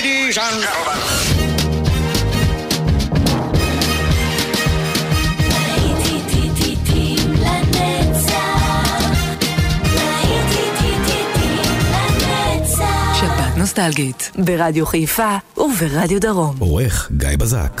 Ladies and gentlemen. שבת נוסטלגית ברדיו חיפה וברדיו דרום. עורך גיא בזק.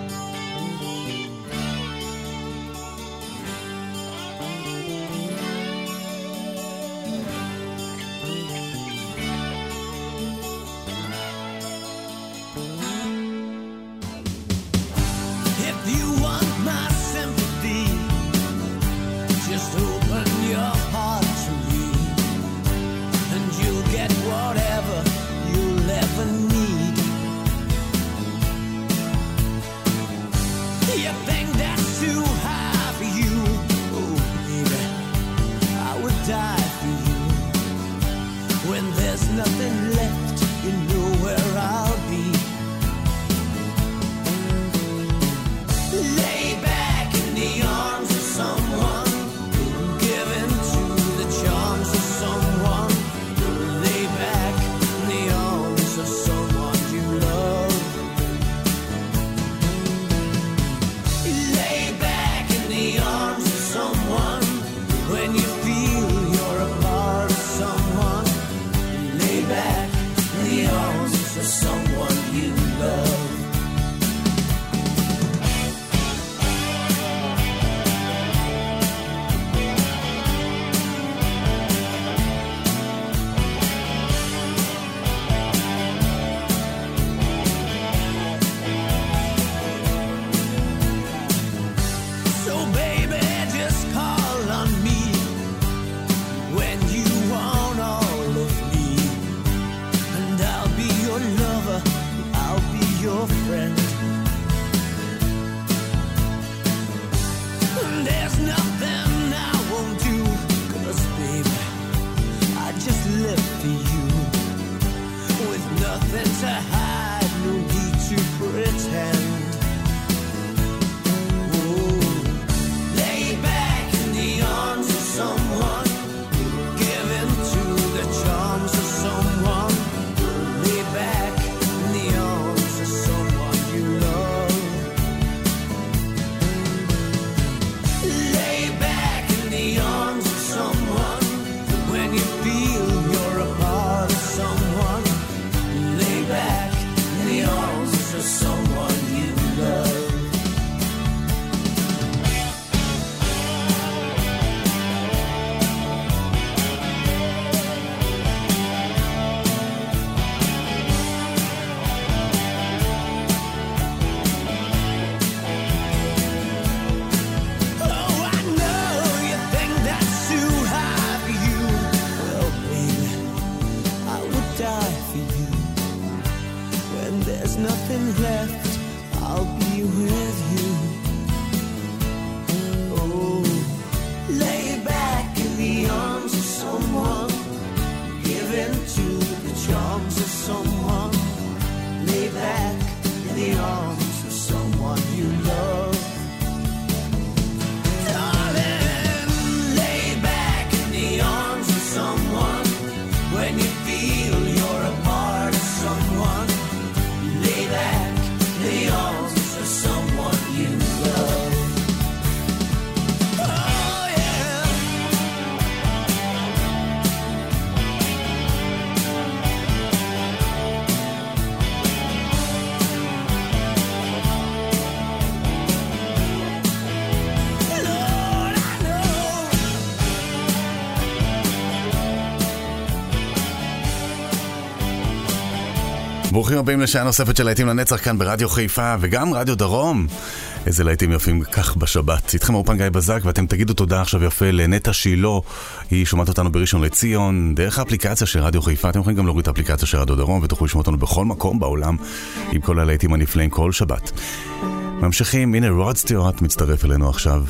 ברוכים הבאים לשעה נוספת של להיטים לנצח כאן ברדיו חיפה וגם רדיו דרום. איזה להיטים יפים כך בשבת. איתכם אופן גיא בזק, ואתם תגידו תודה עכשיו יפה לנטה שילו. היא שומעת אותנו בראשון לציון דרך האפליקציה של רדיו חיפה. אתם יכולים גם להוריד את האפליקציה של רדיו דרום ותוכלו לשמוע אותנו בכל מקום בעולם עם כל הלהיטים הנפלאים כל שבת. ממשיכים, הנה רוד סטיוארט מצטרף אלינו עכשיו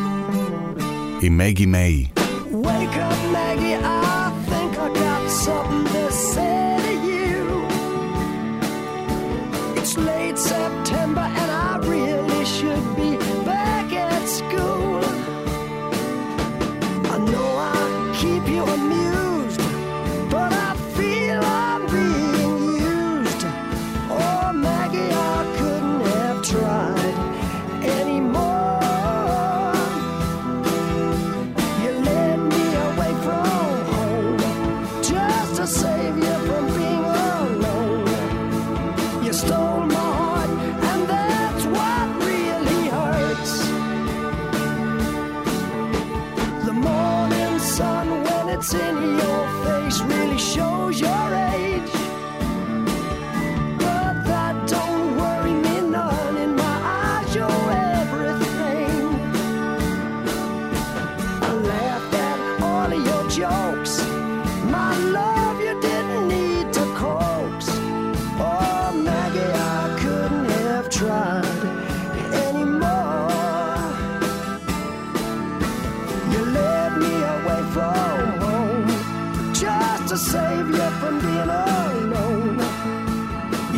עם מגי מיי. Wake up Maggie, I think I got something to say to you. It's late September and I really should be back at school. I know I keep you amused, but I feel I'm being used.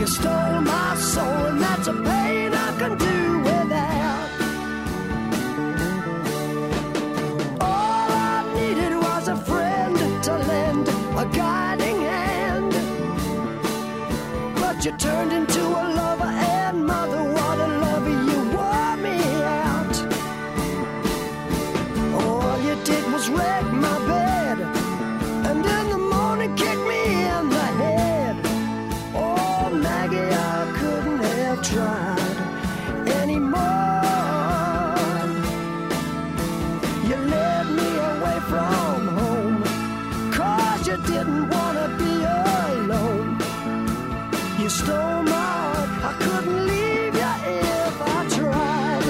You stole my soul, and that's a pain I can do without. All I needed was a friend to lend a guiding hand, but you turned into a lover and mother. What a lover, you wore me out. All you did was wreck my bed, and in the morning kick me in the head. Oh, Maggie, I couldn't have tried anymore. You led me away from home, 'cause you didn't want to be alone. You stole my heart, I couldn't leave you if I tried.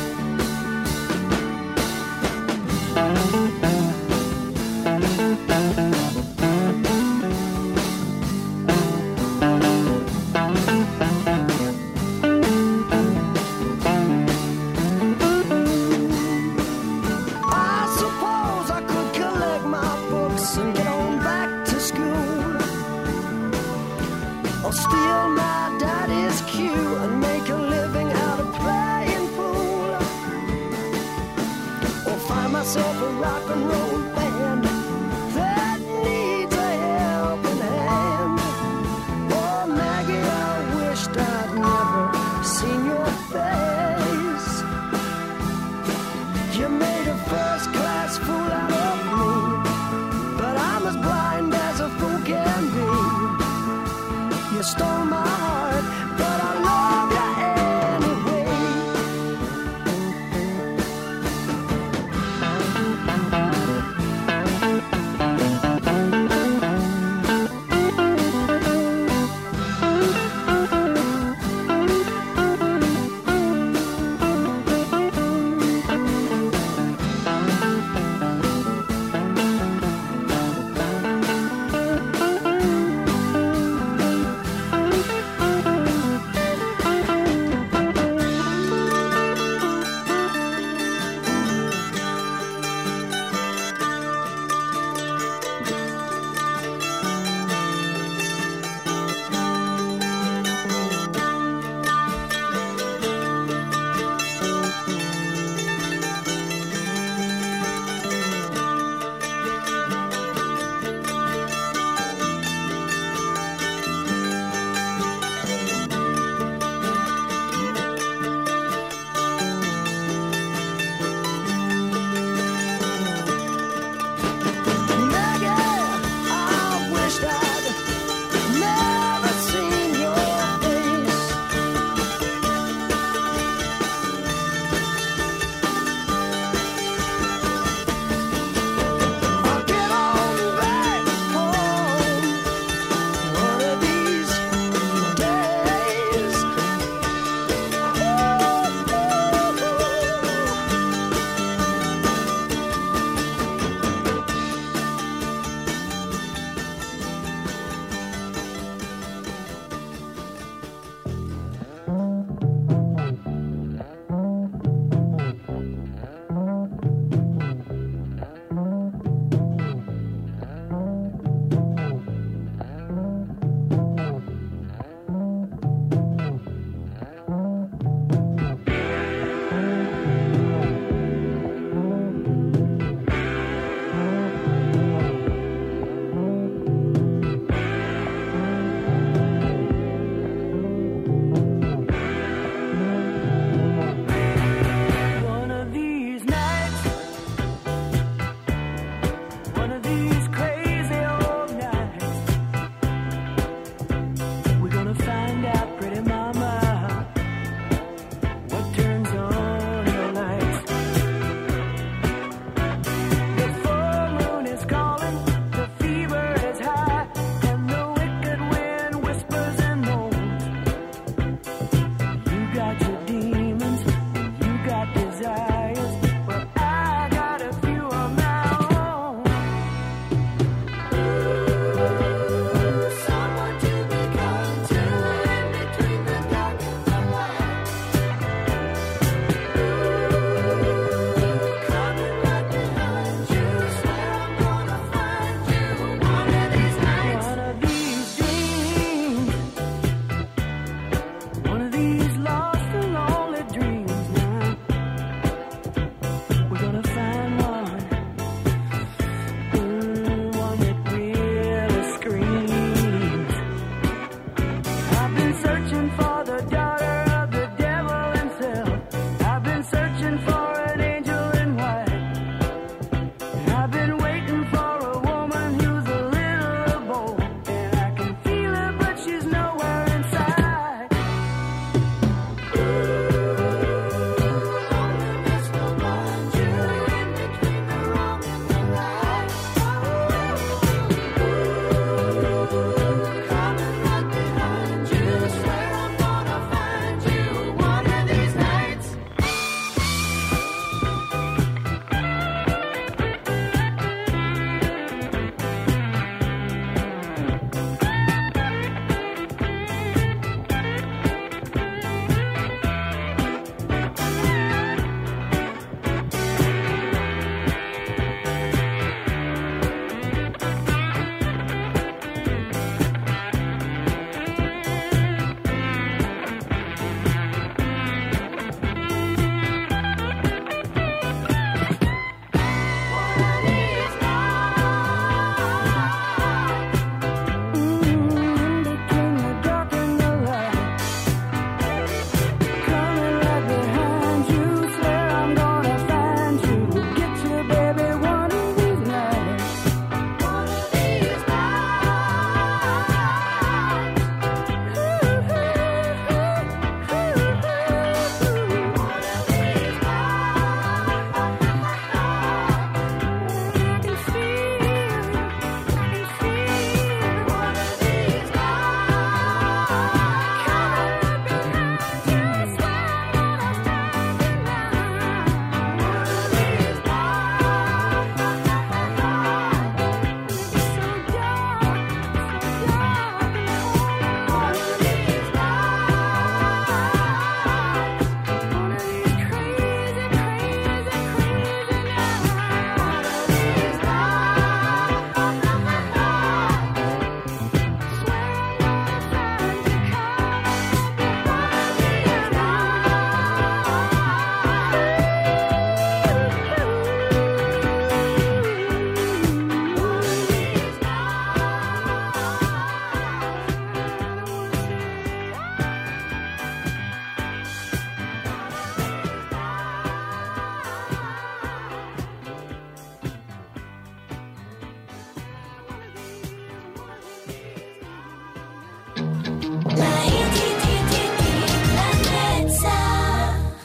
I'll steal my daddy's cue and make a living out of playing pool, or find myself a rock and roll band that needs a helping hand. Oh, Maggie, I wished I'd never seen your face. You made a first-class fool out of me, but I'm as blind as a fool can be. You stole my heart, but I love you anyway.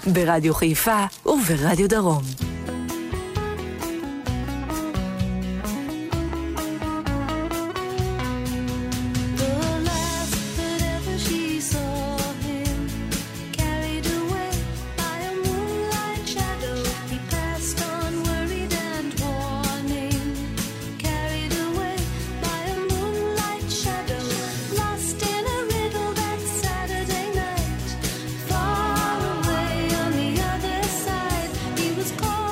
ברדיו חיפה וברדיו דרום. Call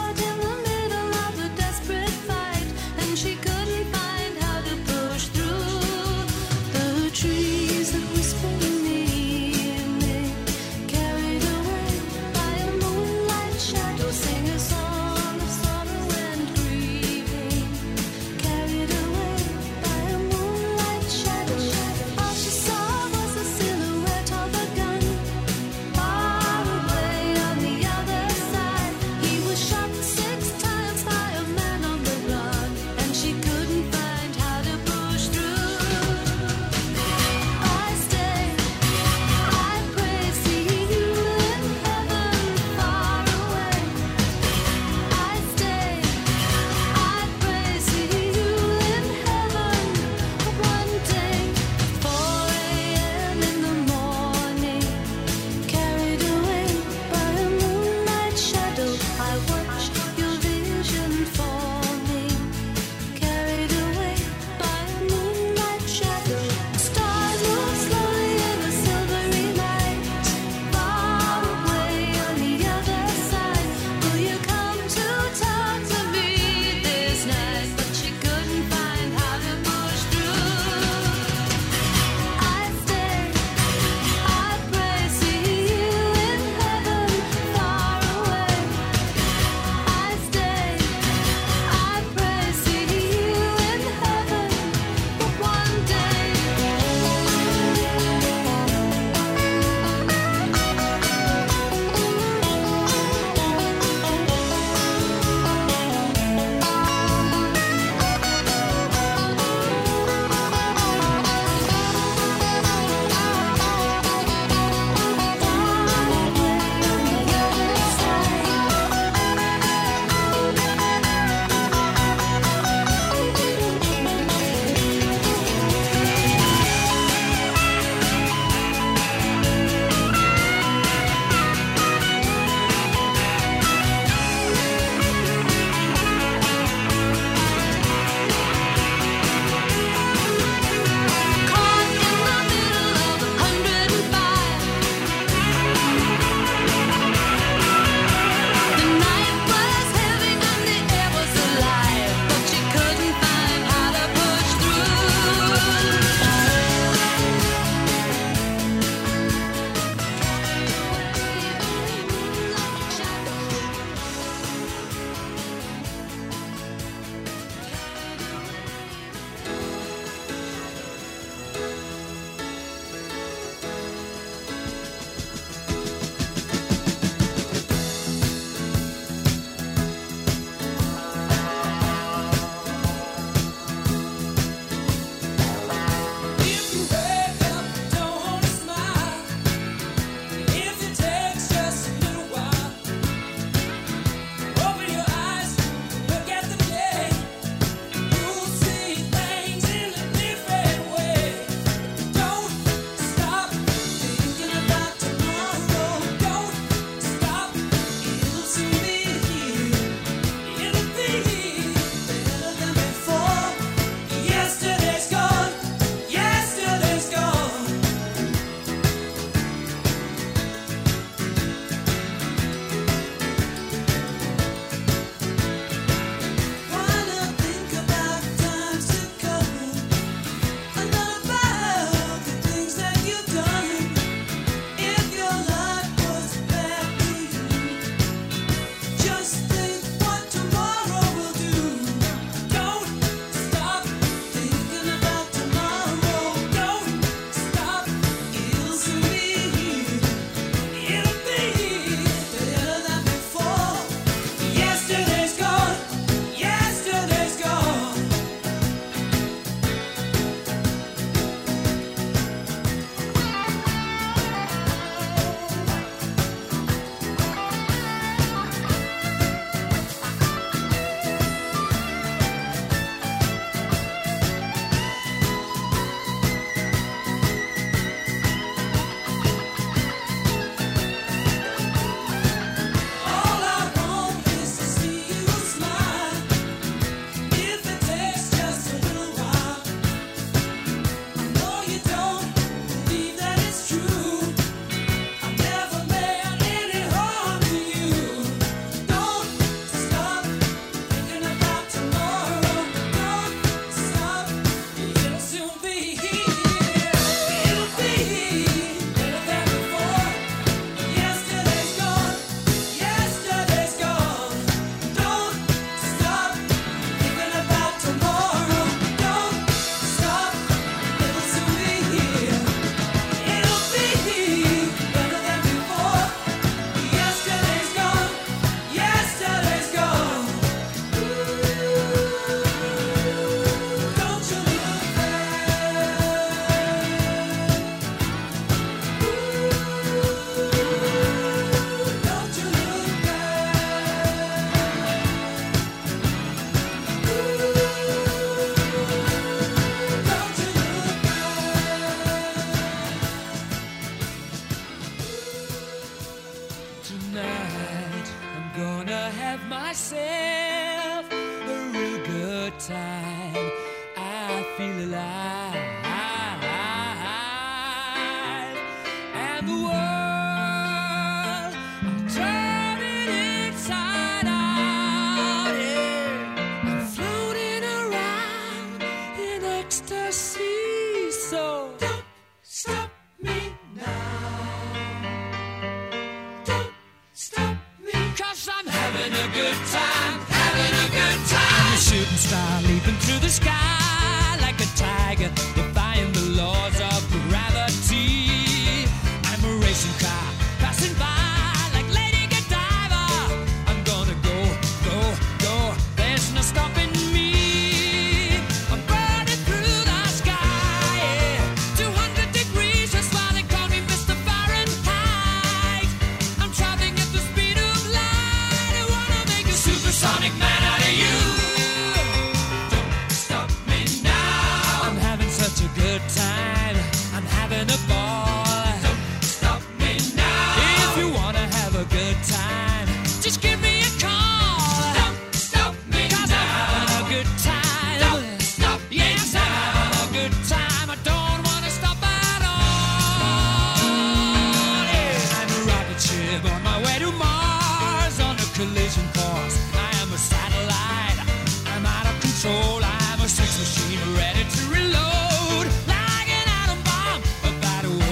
myself a real good time. I feel alive, and the world I'm turning inside out. Yeah, I'm floating around in ecstasy. So don't stop me now. Don't stop me, 'cause I'm having a good time, having a good time. I'm a shooting star leaping through the sky like a tiger, defying the laws of gravity. I'm a racing car passing by like Lady Godiva. I'm gonna go, go, go. There's no stopping me. I'm burning through the sky, yeah. 200 degrees, that's why they call me Mr. Fahrenheit. I'm traveling at the speed of light. I wanna make a supersonic man out of you. Don't stop me now. I'm having such a good time. I'm having a ball. Don't stop me now. If you wanna have a good time, just give me a call. Don't stop me 'cause now. I'm having a good time. Don't stop me yes, now. I'm having a good time. I don't wanna stop at all. Yeah. I'm a rocket ship on my way to Mars on a collision course. I am a satellite. I'm out of control. I'm a sex machine ready to reload like an atom bomb about to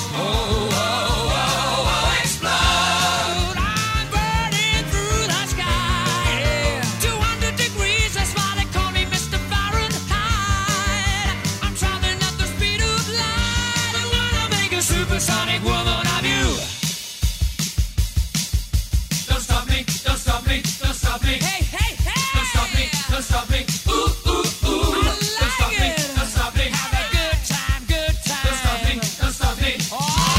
explode. I'm burning through the sky, yeah. 200 degrees, that's why they call me Mr. Fahrenheit. I'm traveling at the speed of light. I wanna make a supersonic woman of you. Don't stop me, don't stop me, don't stop me. Hey, hey, hey! Don't stop me, don't stop me. Ooh, ooh, ooh. Don't stop me, don't stop me. Have a good time, good time. Don't stop me, don't stop me. Oh!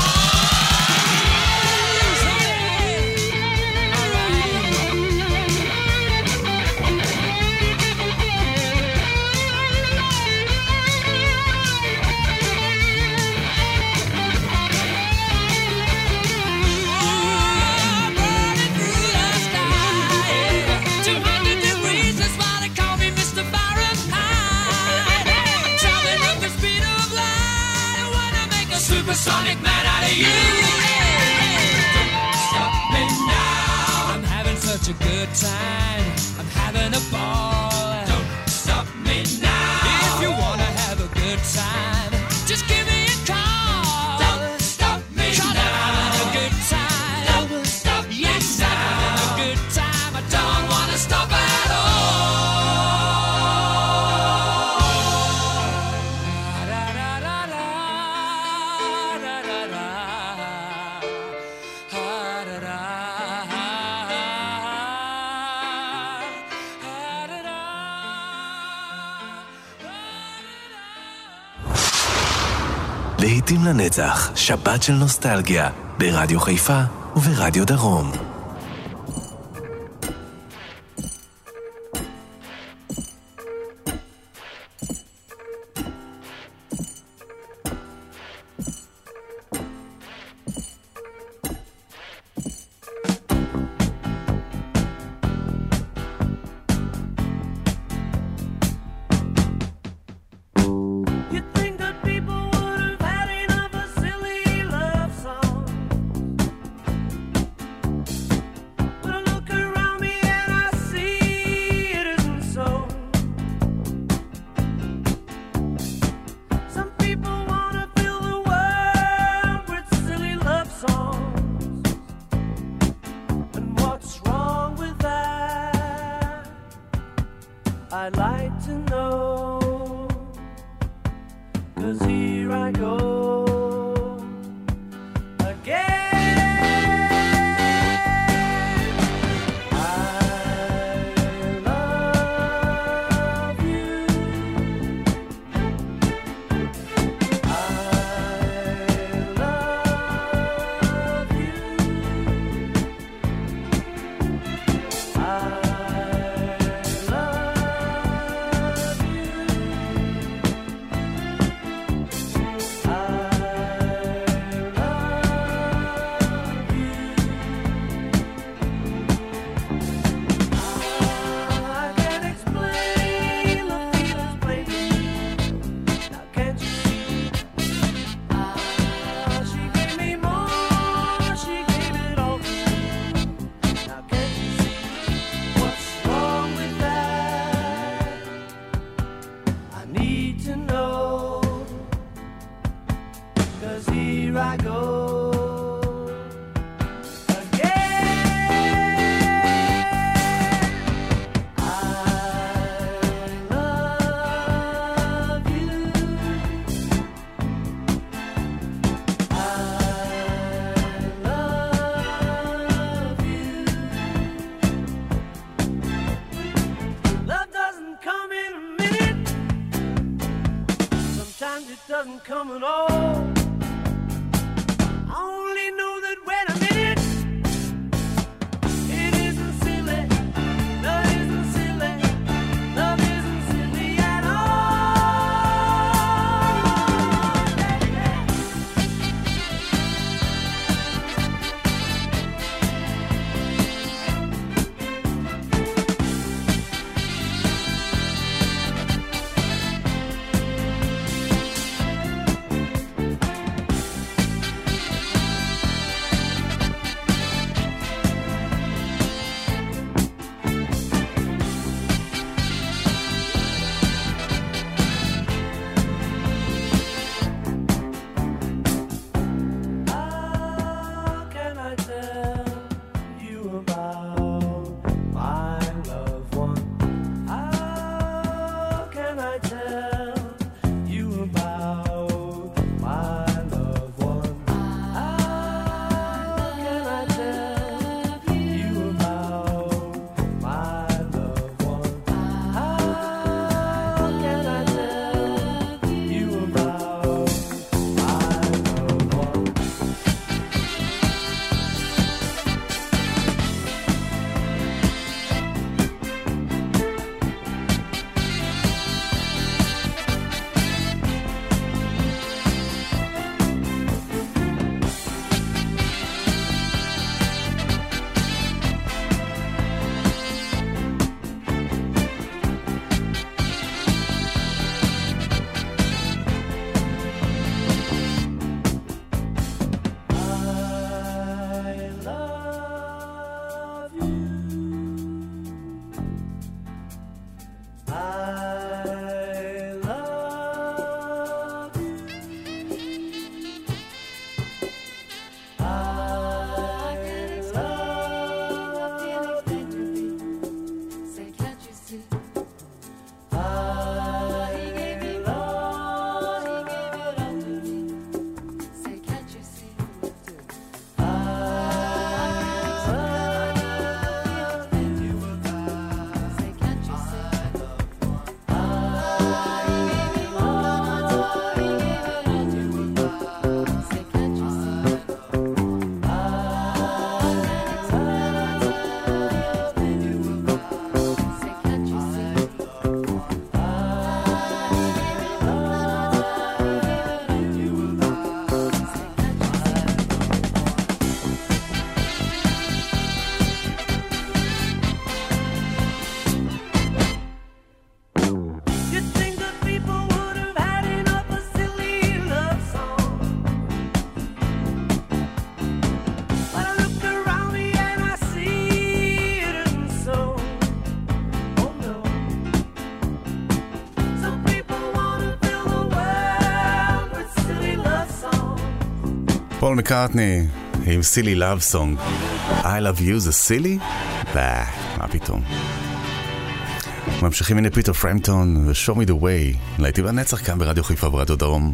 Burning through the sky, 200 degrees, that's why they call me Mr. Fahrenheit. I'm traveling at the speed of light. I wanna make a supersonic man out of you. Don't stop me now. I'm having such a good time. I'm having a ball. Don't stop me now. If you wanna have a good time, just give me a call. Don't stop me now. I'm having a good time. Don't stop me yes, now. I'm having a good time. I don't wanna stop at all. Da, da, da, da, da, da, da, da. Ha, da, da, ha, da, da, להיטים לנצח, שבת של נוסטלגיה, ברדיו חיפה וברדיו דרום. You think that people would have had enough of silly love songs? פול מקארטני עם סילי לאב סונג. I love you זה סילי? מה פתאום. ממשיכים, הנה פיטר פרמפטון ו-Show me the way, להיטים לנצח כאן ברדיו חיפה ורדיו דרום.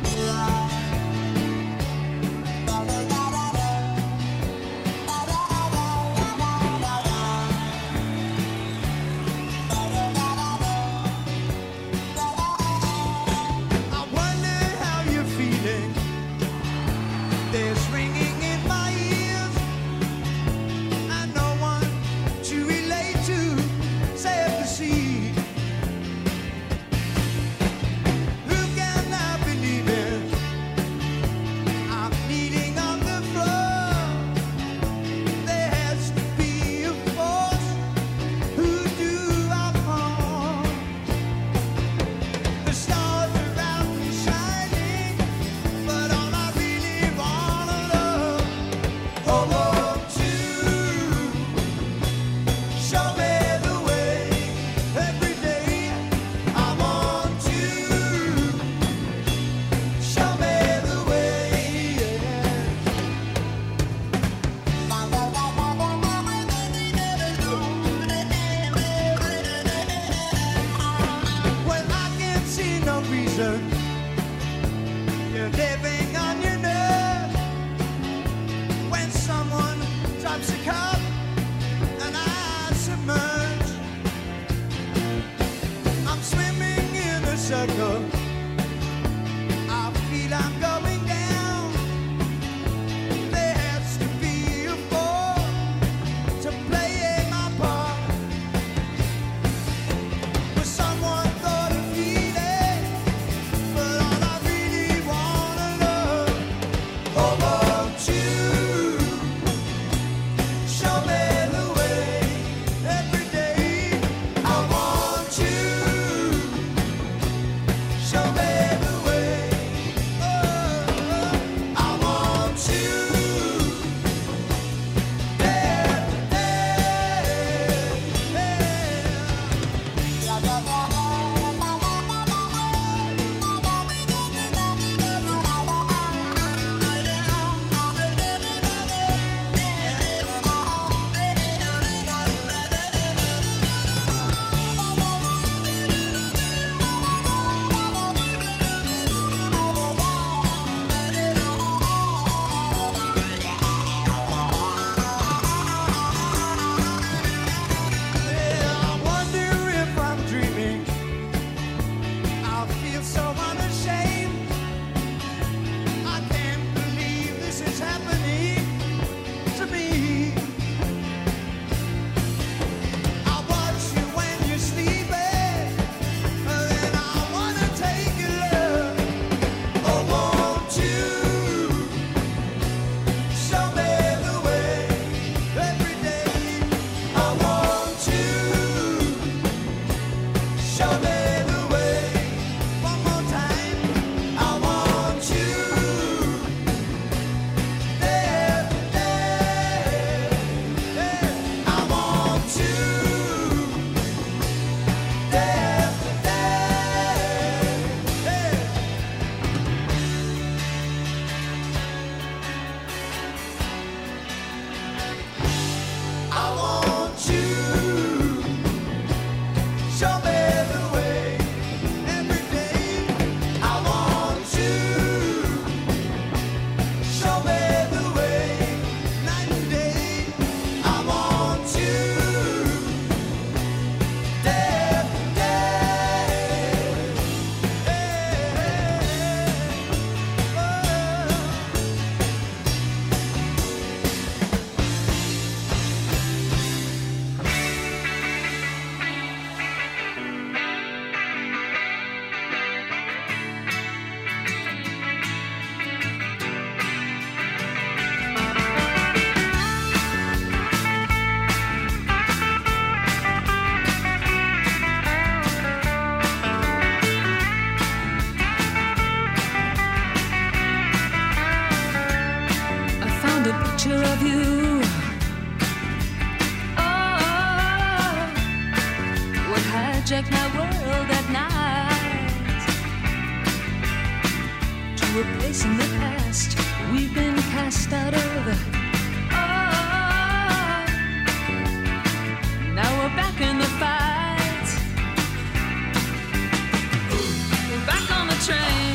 hijack my world at night to a place in the past we've been cast out of. Now we're back in the fight. We're back on the train.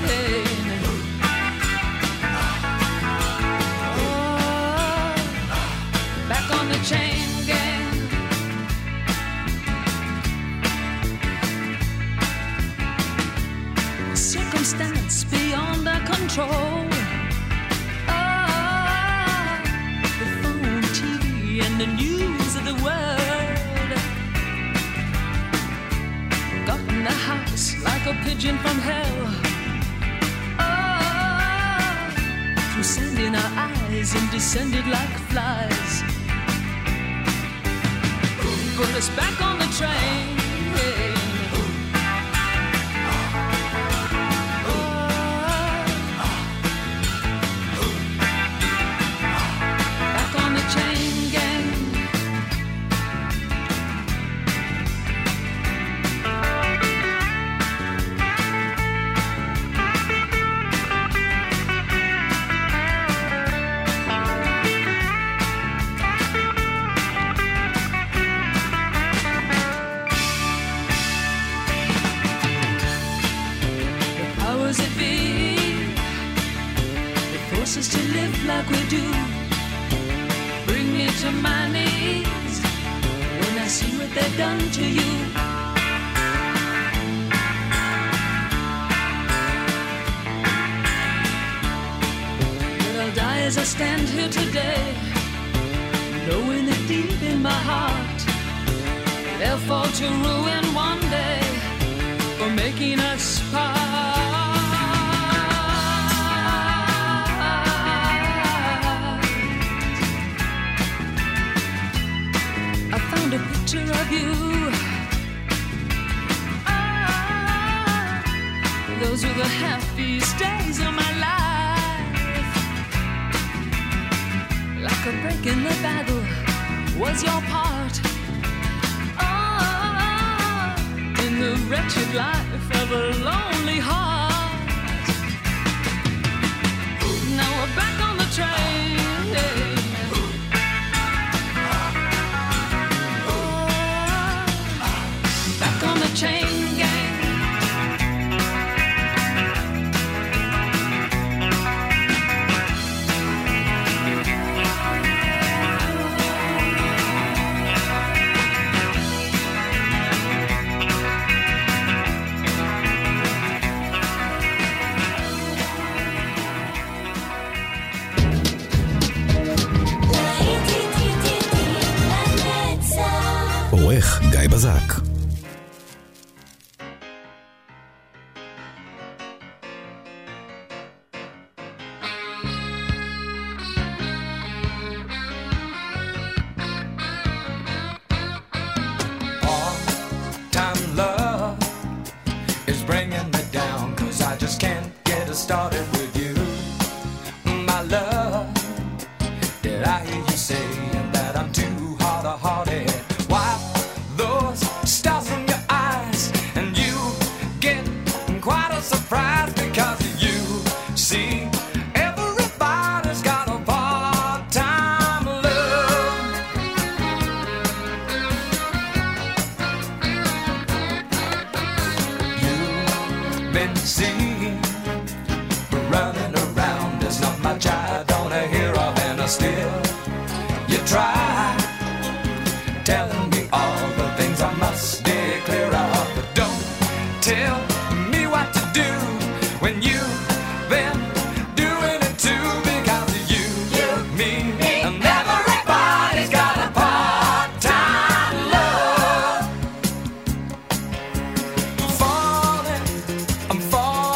Back on the chain gang. Circumstance beyond our control. The phone, TV, and the news of the world got in the house like a pigeon from hell. Through sand in our eyes and descended like flies. Put us back on the train. Back on the chain gang. Us to live like we do. Bring me to my knees when I see what they've done to you. But I'll die as I stand here today, knowing that deep in my heart they'll fall to ruin one day for making us part. A picture of you. Those were the happiest days of my life. Like a break in the battle was your part. In the wretched life of a lonely heart. Now we're back on the train. On the chain gang. עורך גיא בזק.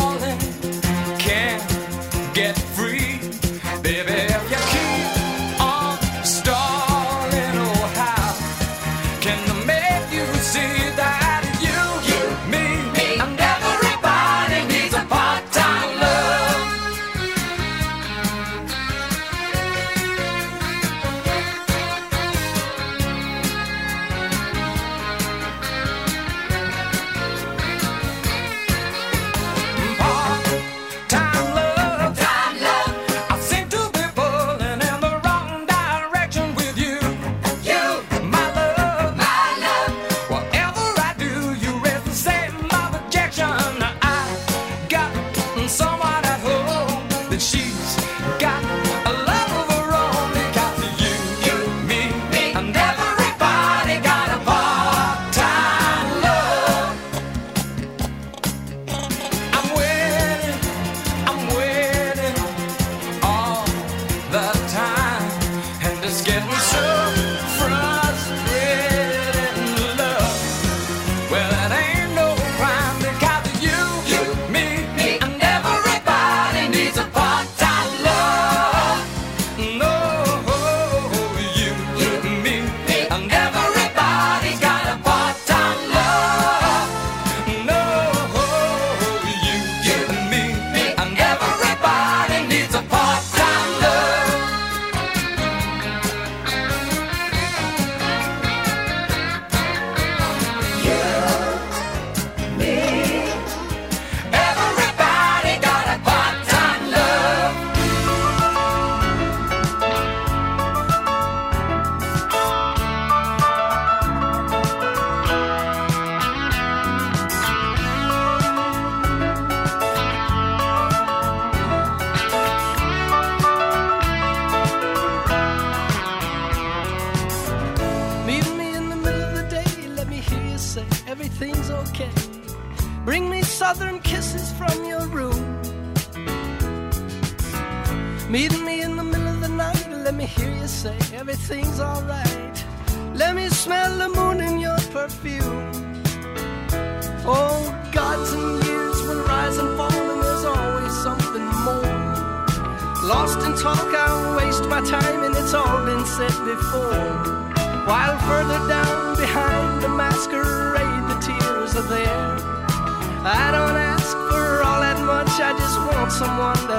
Get free, baby, if you keep on getting so frustrated in love. Well, it ain't no crime because you, me, and everybody needs a part-time love. No, you, me, and everybody got a part-time love. No, you, me, and everybody needs a part-time love. Everybody got a part-time love. Meet me in the middle of the day, let me hear you say everything's okay. Bring me southern kisses from your room. Meet me in the middle of the night, let me hear you say everything's alright. Let me smell the moon in your perfume. Oh, gods and years will rise and fall, and there's always something more. Lost in talk, I'll waste my time, and it's all been said before. While further down behind the masquerade, the tears are there. I don't ask for all that much, I just want someone to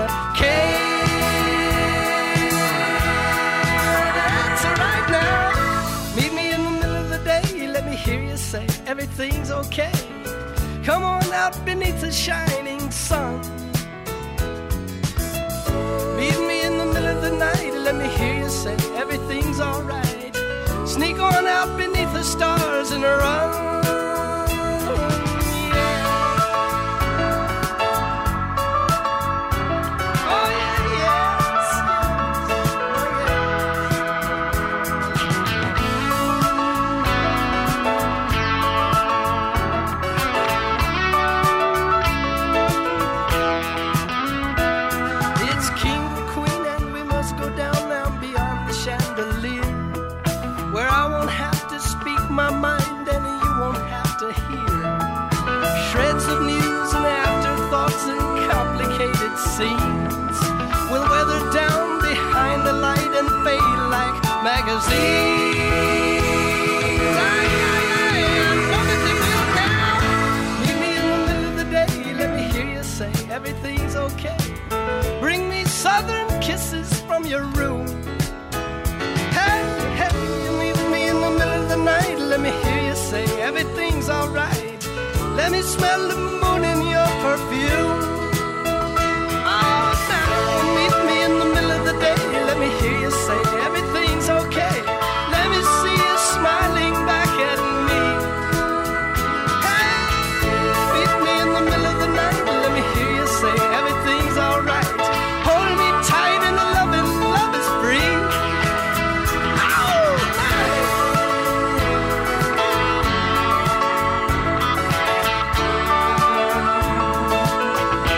care. That's right now. Meet me in the middle of the day, let me hear you say everything's okay. Come on out beneath the shining sun. Meet me in the middle of the night, let me hear you say everything's alright. Sneak on out beneath the stars and run. Oh yeah, yes, It's king or queen, and we must go down now beyond the chandelier, where I won't have to speak my mind and you won't have to hear shreds of news and afterthoughts and complicated scenes will weather down behind the light and fade like magazines. Know that they will now. Meet me in the middle of the day, let me hear you say everything's okay. Bring me southern kisses from your room. Hey, hey, you meet me in the middle of the night, let me hear you say everything's alright. Let me smell the moon in your perfume. Oh, now meet me in the middle of the day, let me hear you say everything's okay. Let me see you smiling back at me. Hey, meet me in the middle of the night, let me hear you say everything's alright. Hold me tight and love is free. Oh,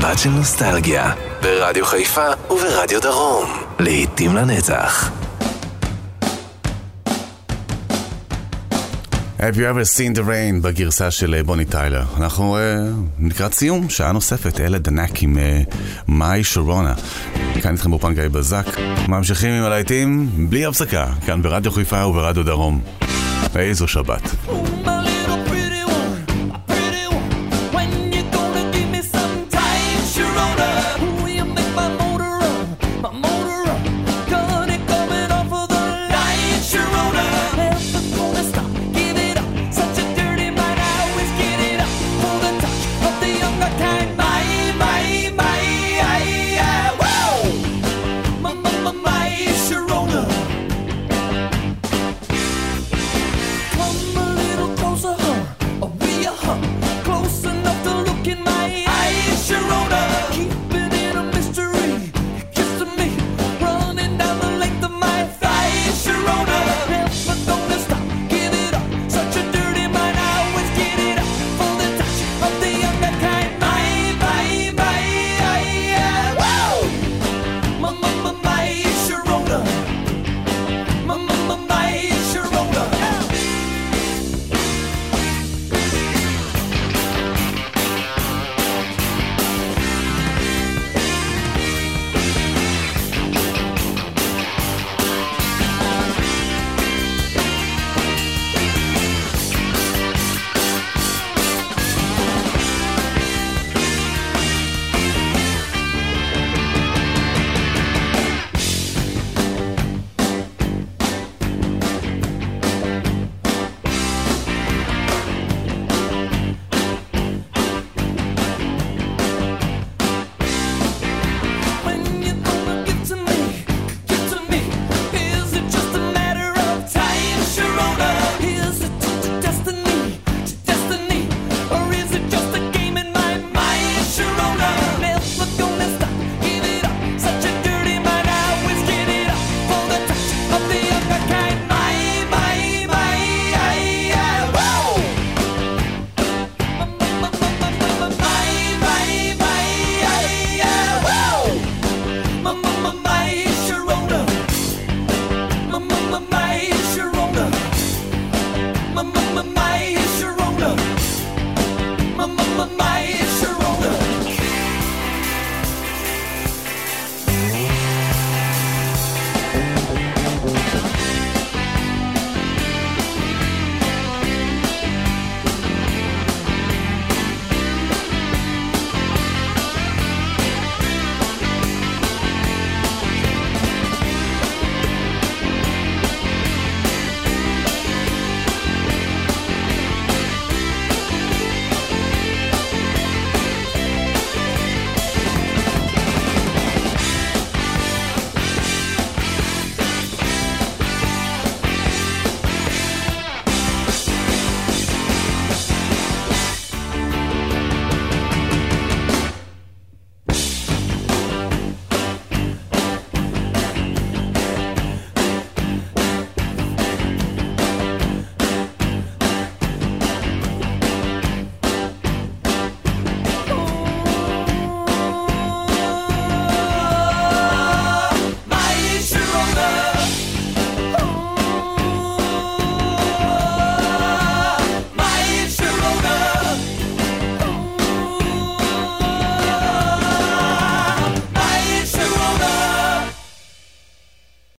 שבת של נוסטלגיה, ברדיו חיפה וברדיו דרום. לעתים לנצח. Have you ever seen the rain בגרסה של בוני טיילר. אנחנו לקראת סיום, שעה נוספת, אלה דנק עם מאי שורונה. כאן איתכם באופן גיא בזק. ממשיכים עם הלהיטים בלי הפסקה, כאן ברדיו חיפה וברדיו דרום. איזו שבת. When you gonna give me some time, Sharona? Will you make my